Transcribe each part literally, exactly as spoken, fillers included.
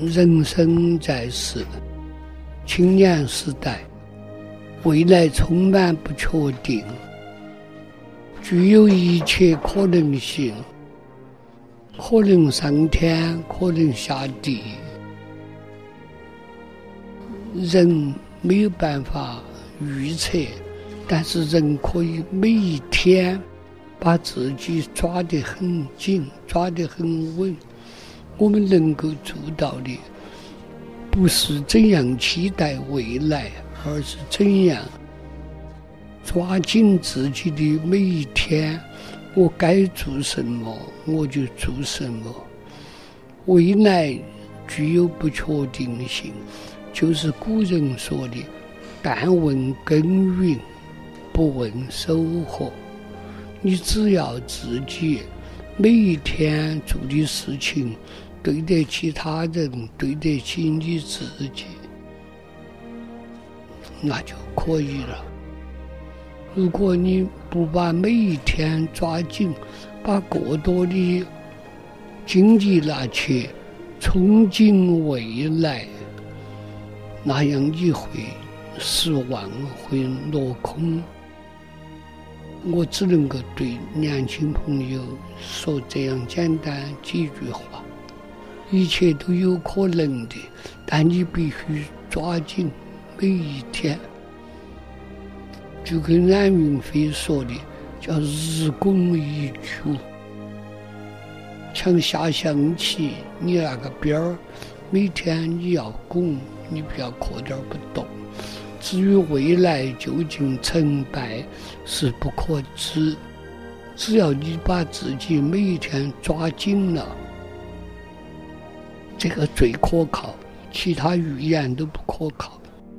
人生在世，青年时代，未来充满不确定，具有一切可能性，可能上天，可能下地。人没有办法预测，但是人可以每一天把自己抓得很紧，抓得很稳。我们能够做到的，不是怎样期待未来，而是怎样抓紧自己的每一天。我该做什么，我就做什么。未来具有不确定性，就是古人说的“但问耕耘，不问收获”。你只要自己每一天做的事情对得起他人，对得起你自己，那就可以了。如果你不把每一天抓紧，把过多的精力拿去憧憬未来，那样你会失望，会落空。我只能够对年轻朋友说这样简单几句话：一切都有可能的，但你必须抓紧每一天。就跟冉云飞说的，叫日拱一卒，像下象棋，你那个边儿每天你要拱，你不要磕点不动。至于未来究竟成败是不可知，只要你把自己每一天抓紧了，这个最可靠，其他预言都不可靠。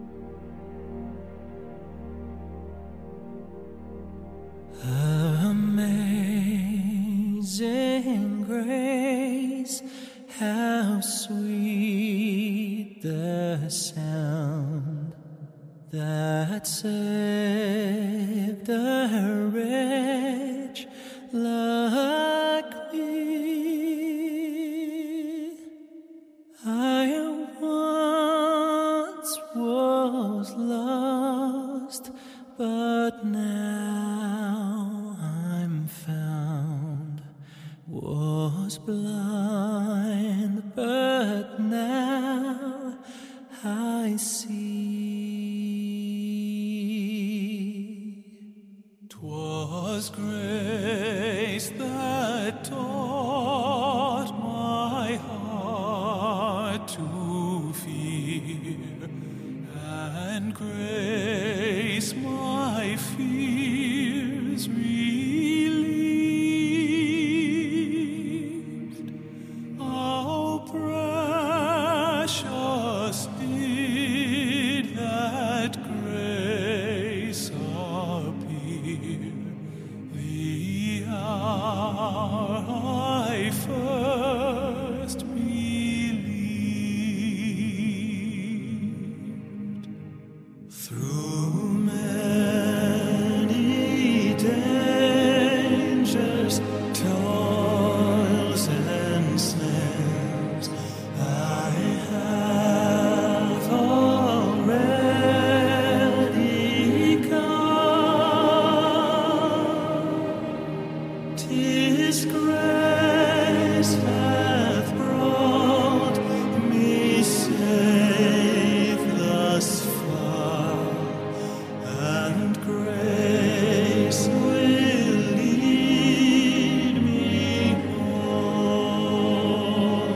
Amazing grace, how sweet the sound that saved a wretch like me. I once was lost, but now I'm found. Was blind, but now I see. 'Twas grace that taught my heart to fear, and grace my fears relieved. How precious did that grace appear the hour I first believed. Through many dangers, toils and snares, I have already come. 'Tis grace hath brought me safe thus far, and grace will lead me home.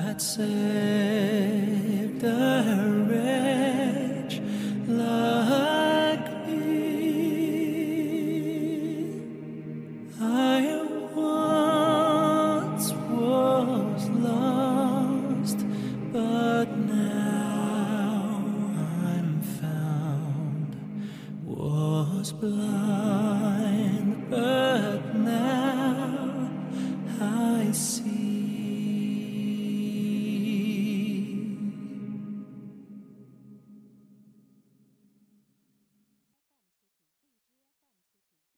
that saved a wretch like me. I once was lost, but now I'm found. Was blind, but now I see.